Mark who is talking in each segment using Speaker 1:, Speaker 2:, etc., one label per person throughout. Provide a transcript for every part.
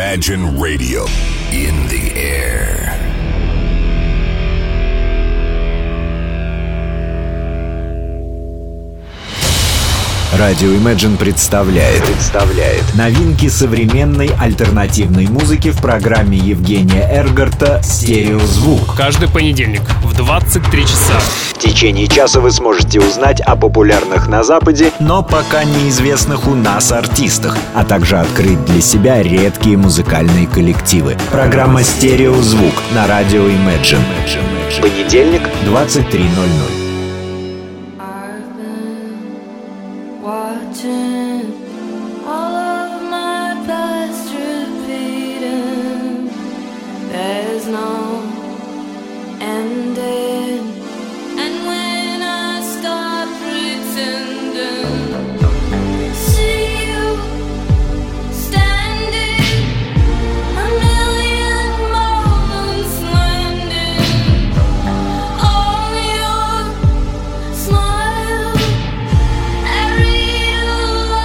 Speaker 1: Imagine Radio in the air.
Speaker 2: Радио Imagine представляет новинки современной альтернативной музыки в программе Евгения Эргарта «Стереозвук».
Speaker 3: Каждый понедельник в 23 часа.
Speaker 2: В течение часа вы сможете узнать о популярных на Западе, но пока неизвестных у нас артистах, а также открыть для себя редкие музыкальные коллективы. Программа «Стереозвук» на радио Imagine. Понедельник, 23:00.
Speaker 4: Watching all of my past repeating, there's no ending. And when I stop pretending, see you standing, a million moments landing on your smile. I read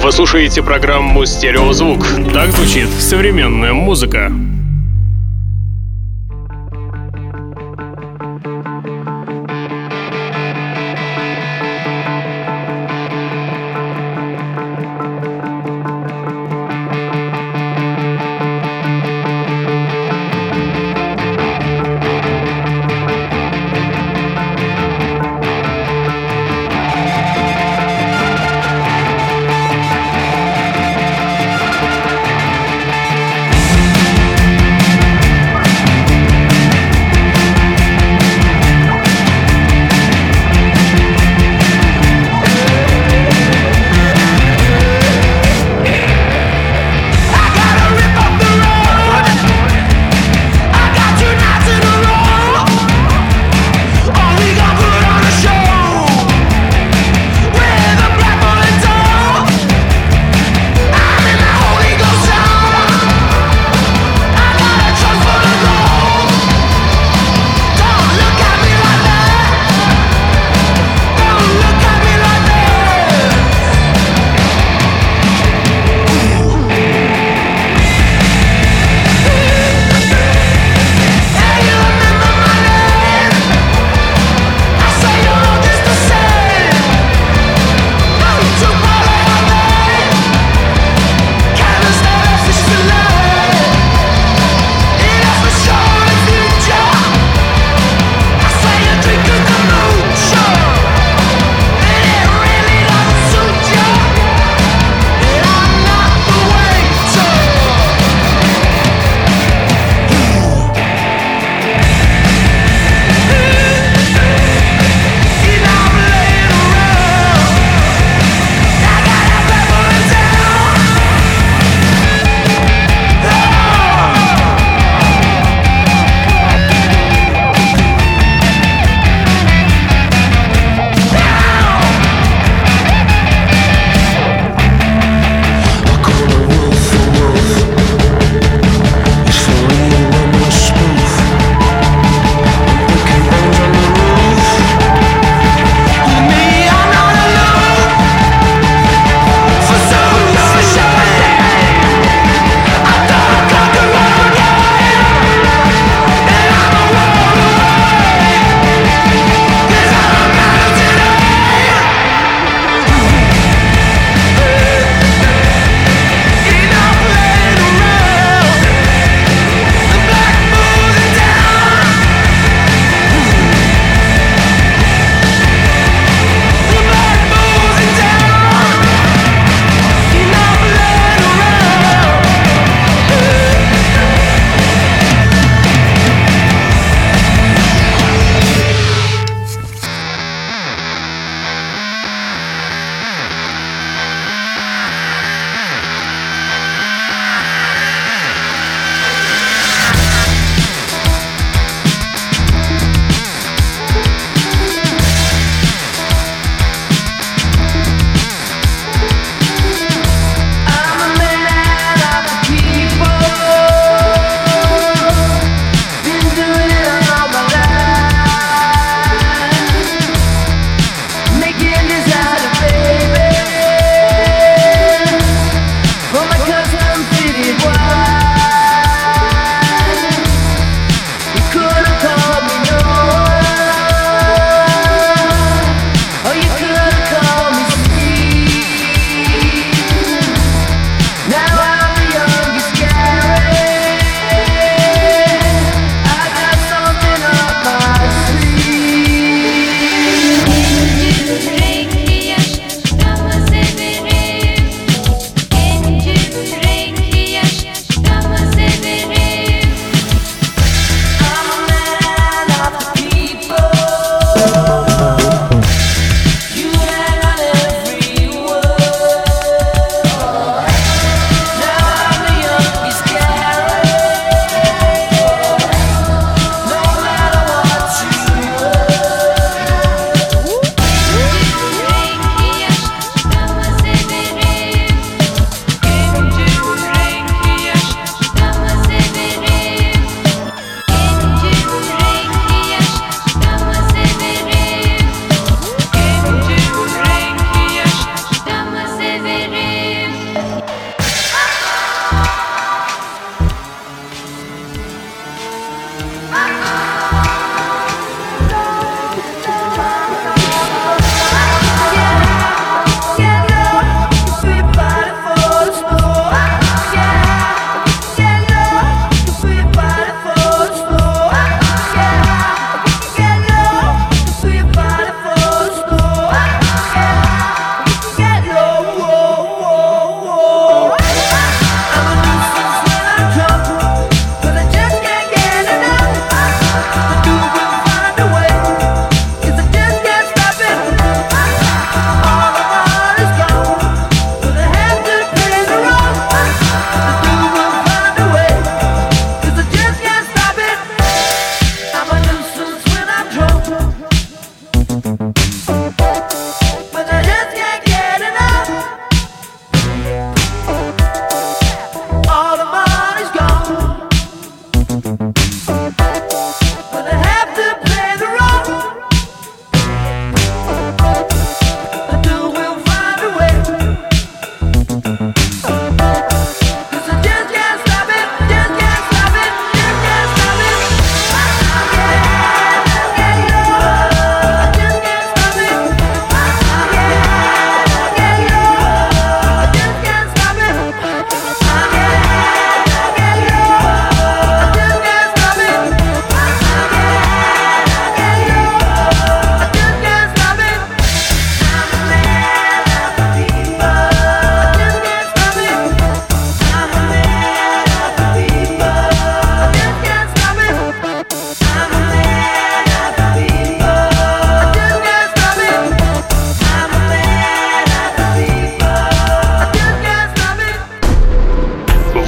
Speaker 3: Вы слушаете программу «Стереозвук». Так звучит современная музыка.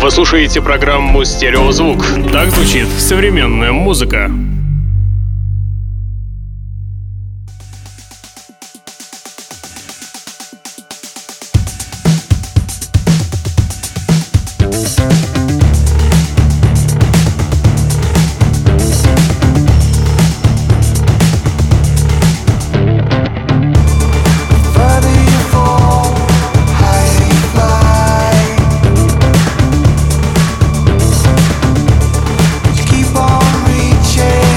Speaker 3: Вы слушаете программу «Стереозвук». Так звучит современная музыка.
Speaker 5: Keep on reaching.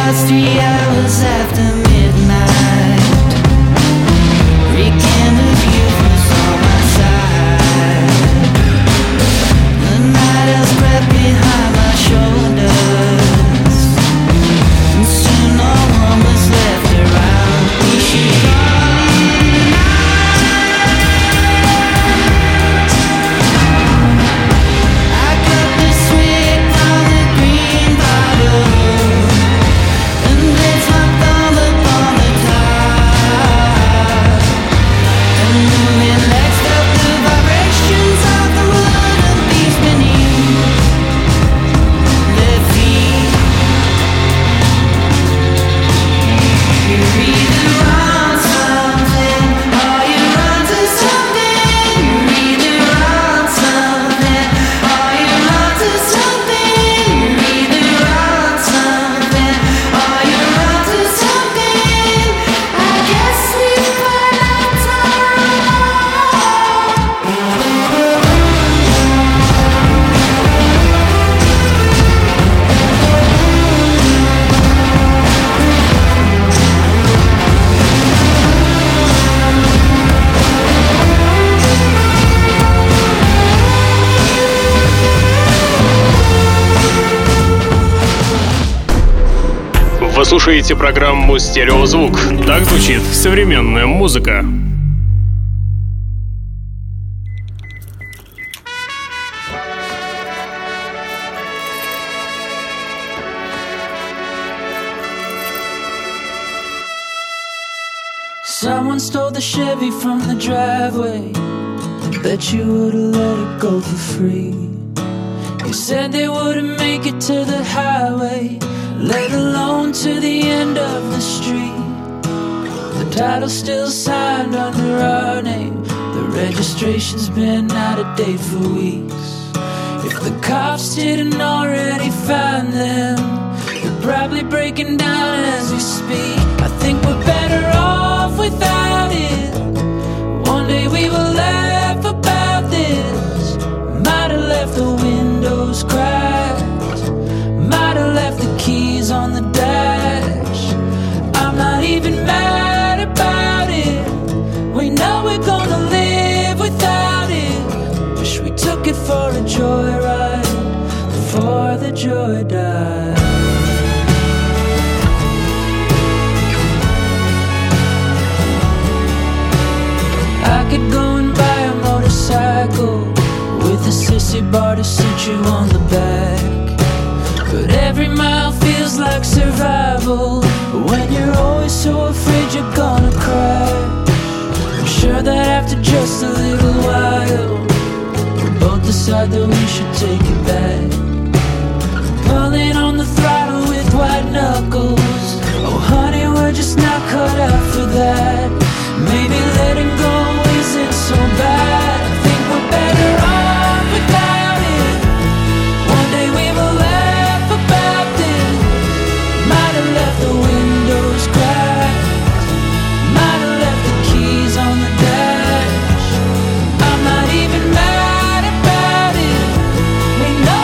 Speaker 5: was 3 hours after midnight. Weekend of youth was on my side. The night has crept behind my shoulders, and soon no one was left around. We should
Speaker 3: Вы слушаете программу «Стереозвук». Так звучит современная музыка.
Speaker 5: Someone stole the Chevy from the driveway. I bet you would've let it go for free. You said they wouldn't make it to the highway, let alone to the end of the street. The title's still signed under our name. The registration's been out of date for weeks. If the cops didn't already find them, they're probably breaking down as we speak. I think we're better off without it. One day we will laugh about this. Might have left the windows cracked, might have left the keys on the dash. I'm not even mad about it. We know we're gonna live without it. Wish we took it for a joyride before the joy died. I could go and buy a motorcycle with a sissy bar to sit you on the back, but every mile feels like survival when you're always so afraid you're gonna crash. I'm sure that after just a little while, we both decide that we should take it back. Pulling on the throttle with white knuckles. Oh honey, we're just not cut out for that. Maybe letting go isn't so bad. I think we're better off without it. One day we will laugh about this. Might have left the windows cracked, might have left the keys on the dash. I'm not even mad about it. We know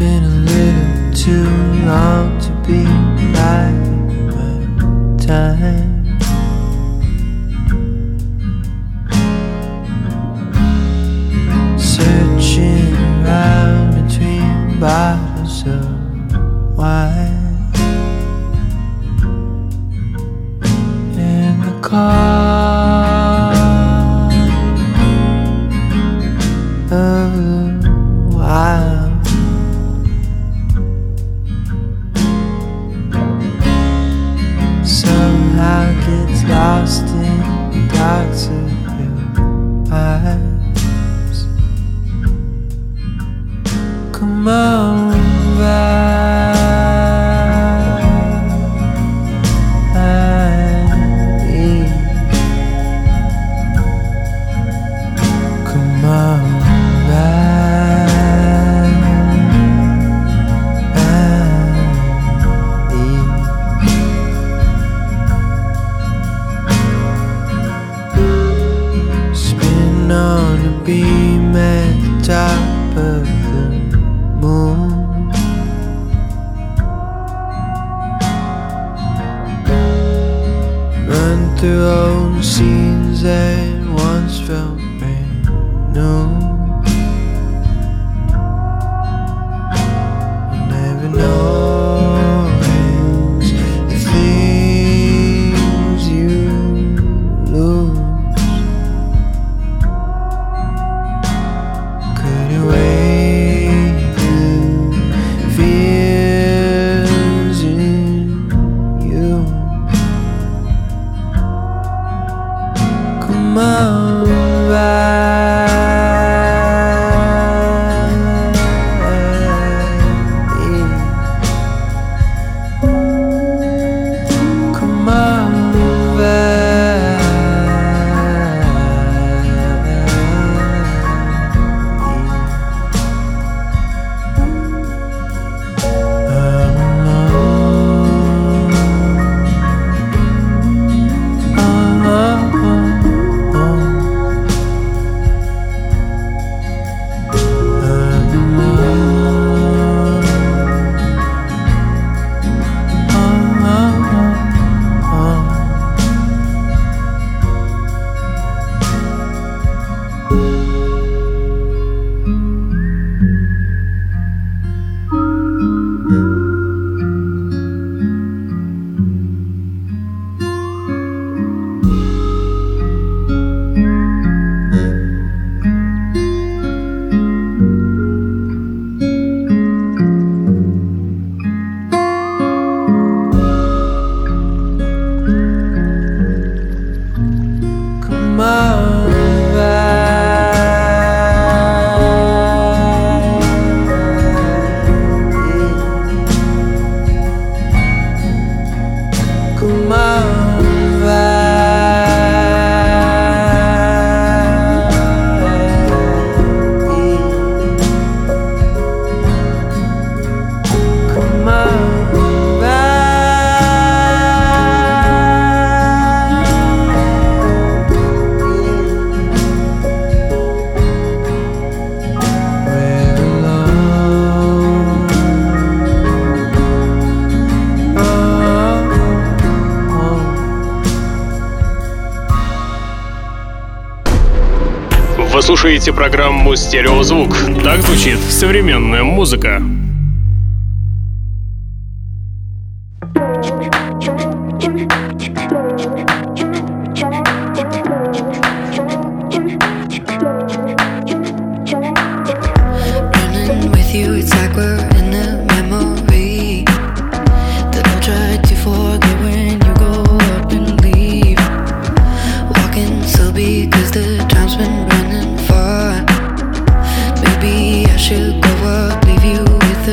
Speaker 5: been a little too long to be biding my time. Searching around between bottles of wine in the car of the wild. Somehow gets lost in the darks of your eyes. Come on back. Come on back. Spin on a beam at the top of the moon. Run through old scenes that once felt brand new. You never know the things you lose. Could it wake the fears in you? Come on back. Come on back. I'm alone. Come on back. Come on back. Come on back. We're alone.
Speaker 3: Вы слушаете программу «Стереозвук». Так звучит современная музыка.
Speaker 6: Running with you, it's like we're in a memory that I'll try to forget when you go up and leave. Walking slow because the time's been running far. Maybe I should go up, leave you with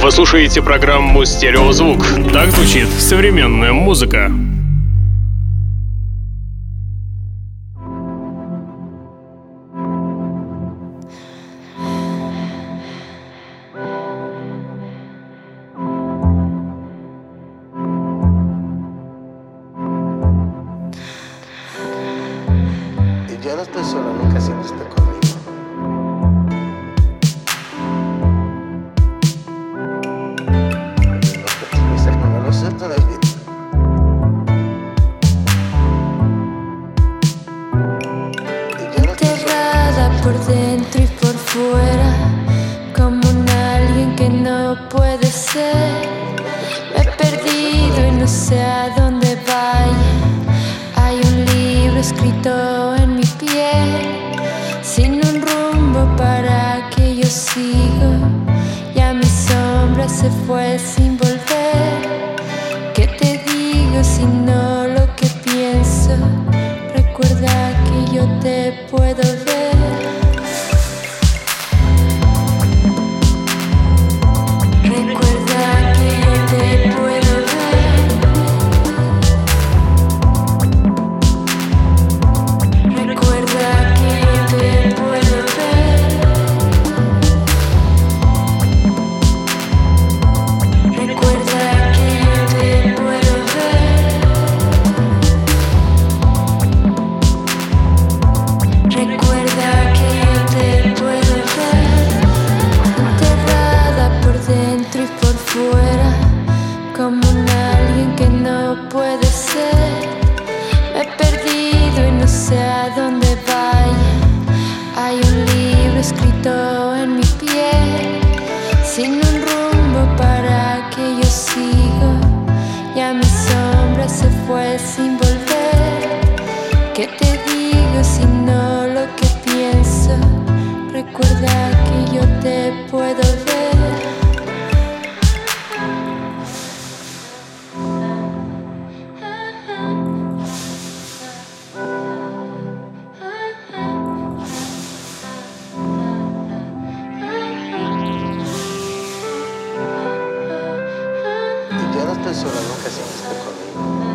Speaker 3: Вы слушаете программу «Стереозвук». Так звучит современная музыка.
Speaker 7: Yo no estoy solo, nunca siempre estoy conmigo. No lo sé todavía.
Speaker 4: Enterrada por dentro y por fuera, como un alguien que no puede ser. Me he perdido y no sé a dónde vaya. Hay un libro escrito en mi piel, sin un rumbo para que yo sigo. Ya mi sombra se fue sin volver. ¿Qué te digo si no lo que pienso? Recuerda que yo te puedo ver. Recuerda que yo te puedo ver. Recuerda que yo te puedo ver. Recuerda que yo te puedo ver. Recuerda que yo te puedo ver. Enterrada por dentro y por fuera, como un alguien que no puede ser. Me he perdido y no sé a dónde vaya. Hay un libro escrito en mi piel, sin un rumbo para que yo sigo. Ya mi sombra se fue sin volver. ¿Qué te digo si no lo que pienso? Recuerda que yo te puedo ver.
Speaker 7: Yo no estoy solo, nunca siempre estoy conmigo.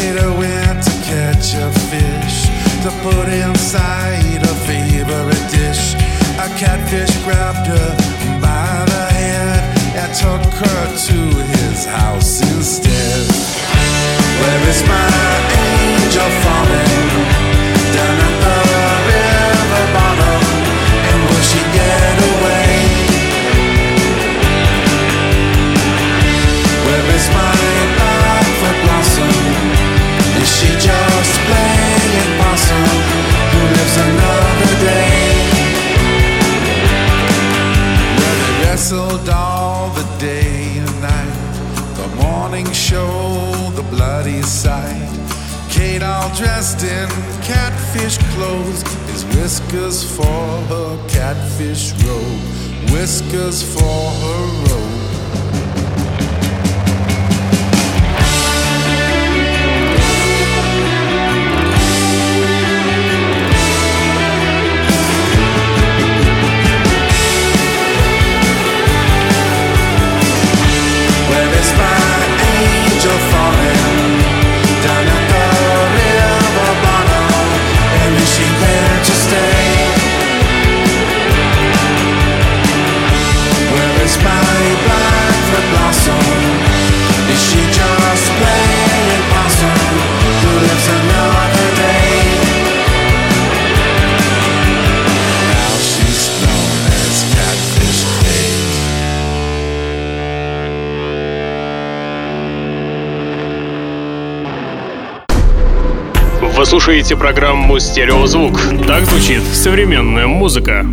Speaker 8: Gator went to catch a fish to put inside a favorite dish. A catfish grabbed her by the head and took her to his house instead. Where is my angel falling? Down at the river bottom. And will she get away? Where is my Blackfoot blossom? Is she just playing possum who lives another day? Where they wrestled all the day and night, the morning show, the bloody sight. Kate all dressed in catfish clothes, his whiskers for her catfish robe, whiskers for her robe.
Speaker 3: Вы слушаете программу «Стереозвук». Так звучит современная музыка.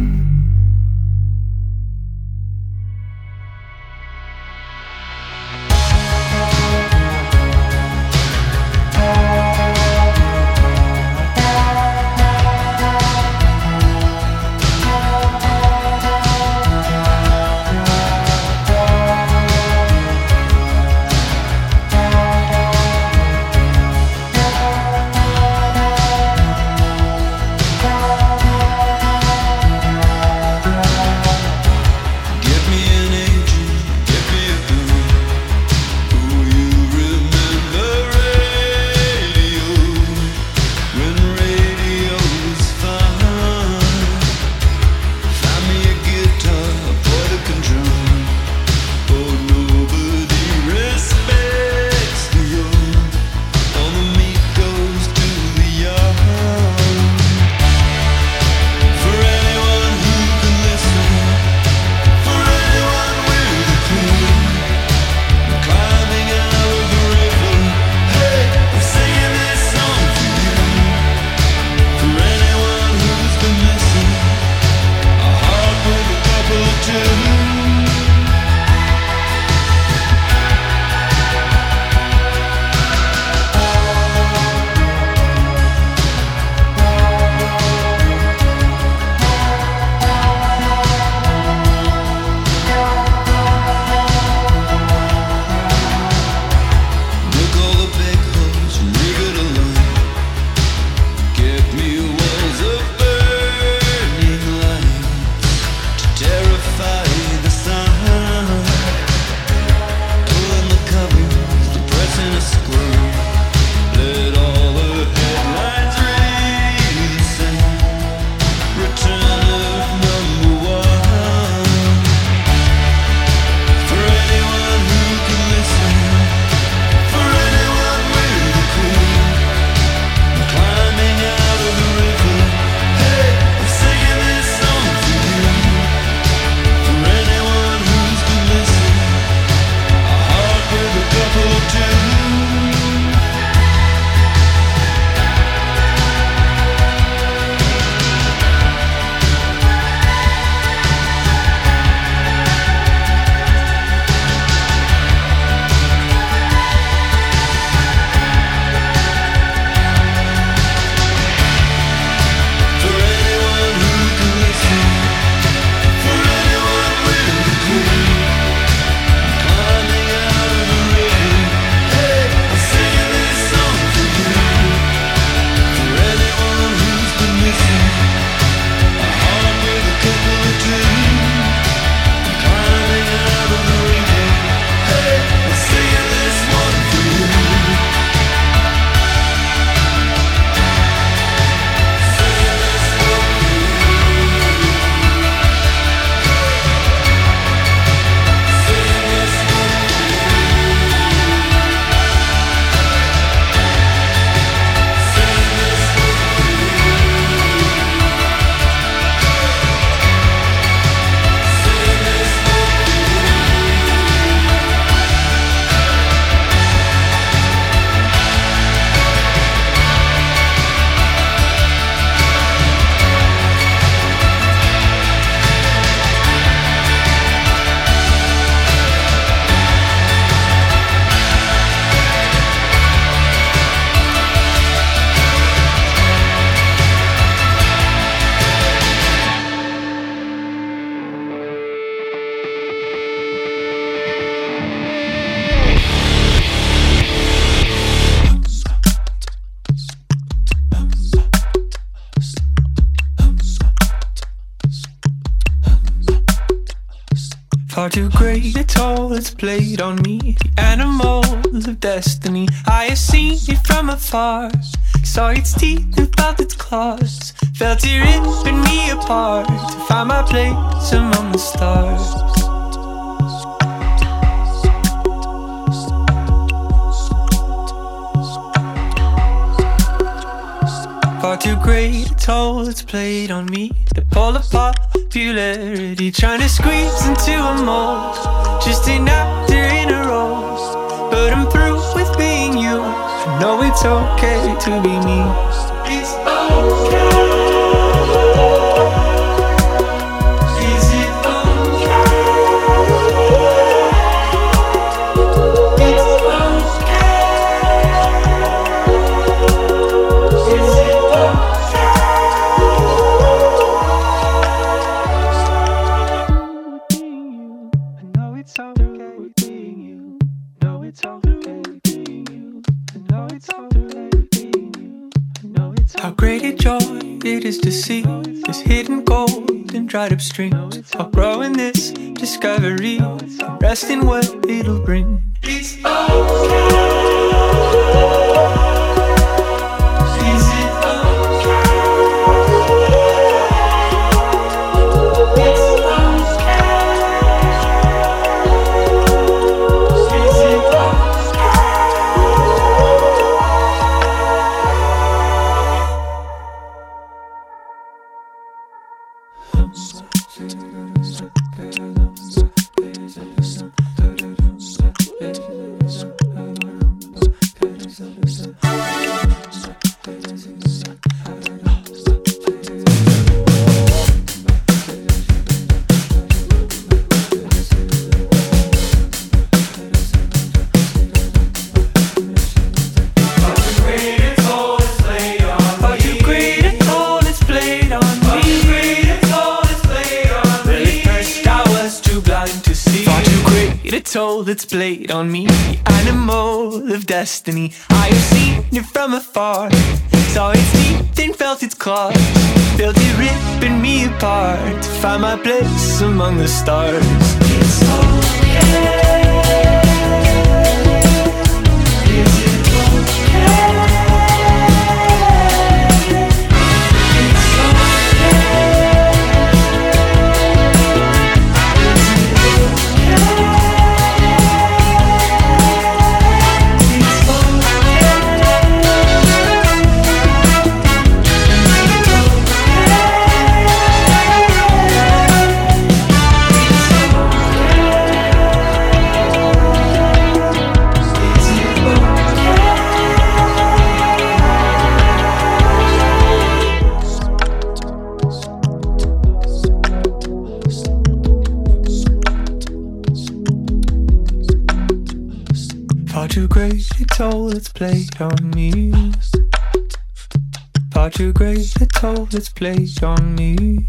Speaker 5: too great a toll it's played on me. The animal of destiny, I have seen it from afar. Saw its teeth and felt its claws, felt it ripping me apart to find my place among the stars. Far too great a toll it's played on me. The pull of popularity, trying to squeeze into a mold, just an actor in a role. But I'm through with being you. I know it's okay to be me. It's okay. Is it okay? It's okay. Is it how great a joy it is to see this hidden gold in dried up streams. I'll grow in this discovery and rest in what it'll bring. It's okay. Is it okay? It's okay. Is it toll that's played on me, the animal of destiny. I have seen it from afar, saw its teeth and felt its claws, felt it ripping me apart to find my place among the stars. It's okay. Is it okay? Too great a toll it's played on me. Far too great a toll it's played on me.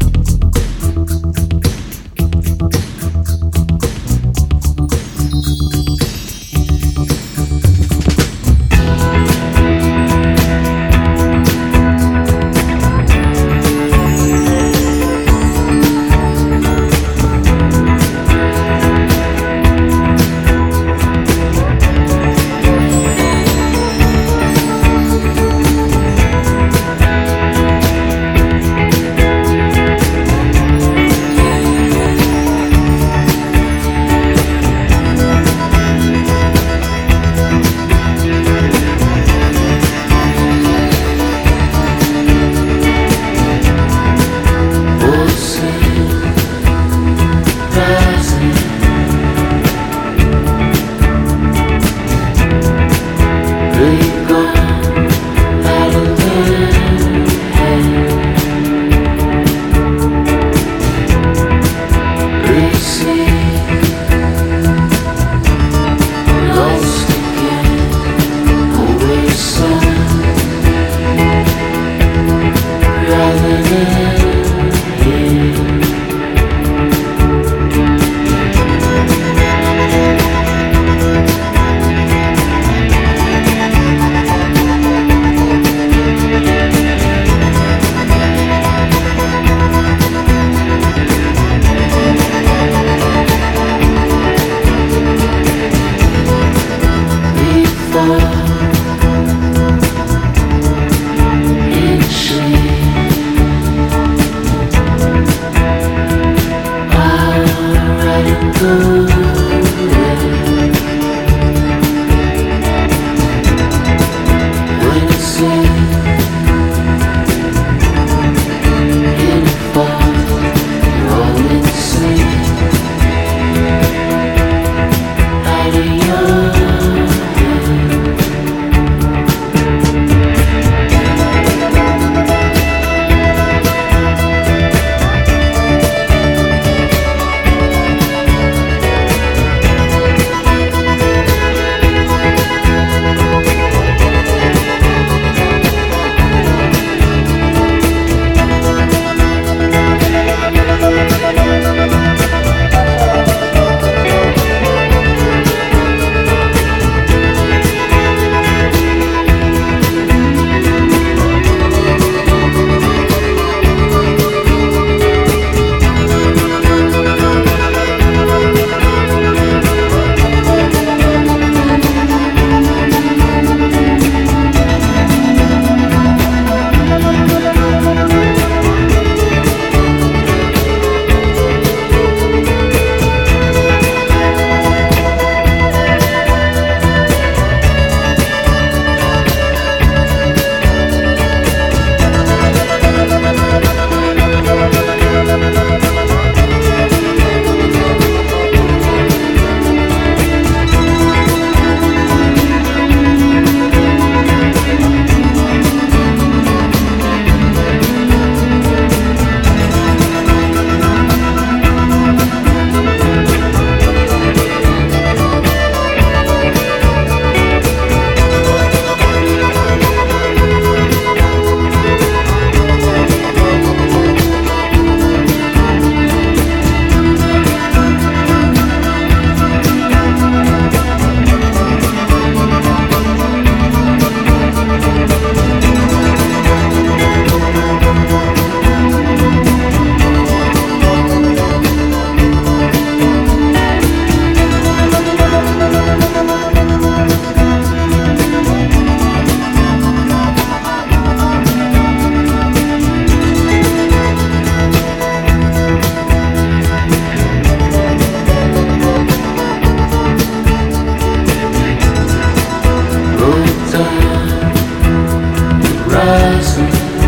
Speaker 5: horizon.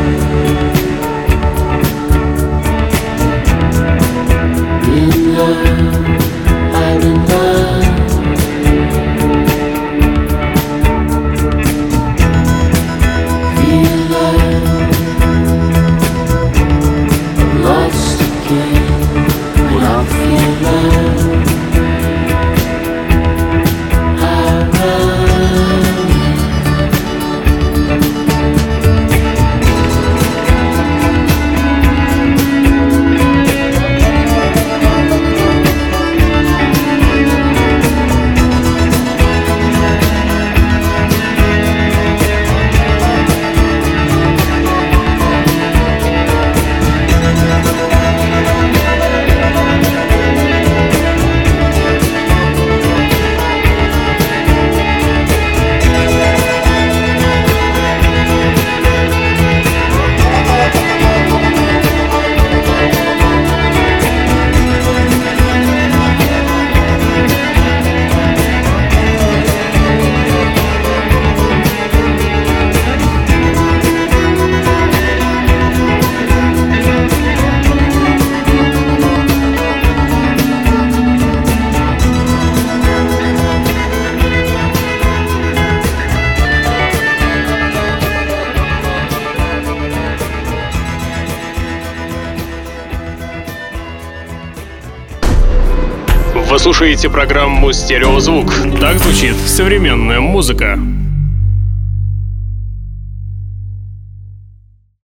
Speaker 5: In love, I'm in love. Feel like I'm lost again when I feel like I run.
Speaker 3: Вы слушаете программу «Стереозвук». Так звучит современная музыка.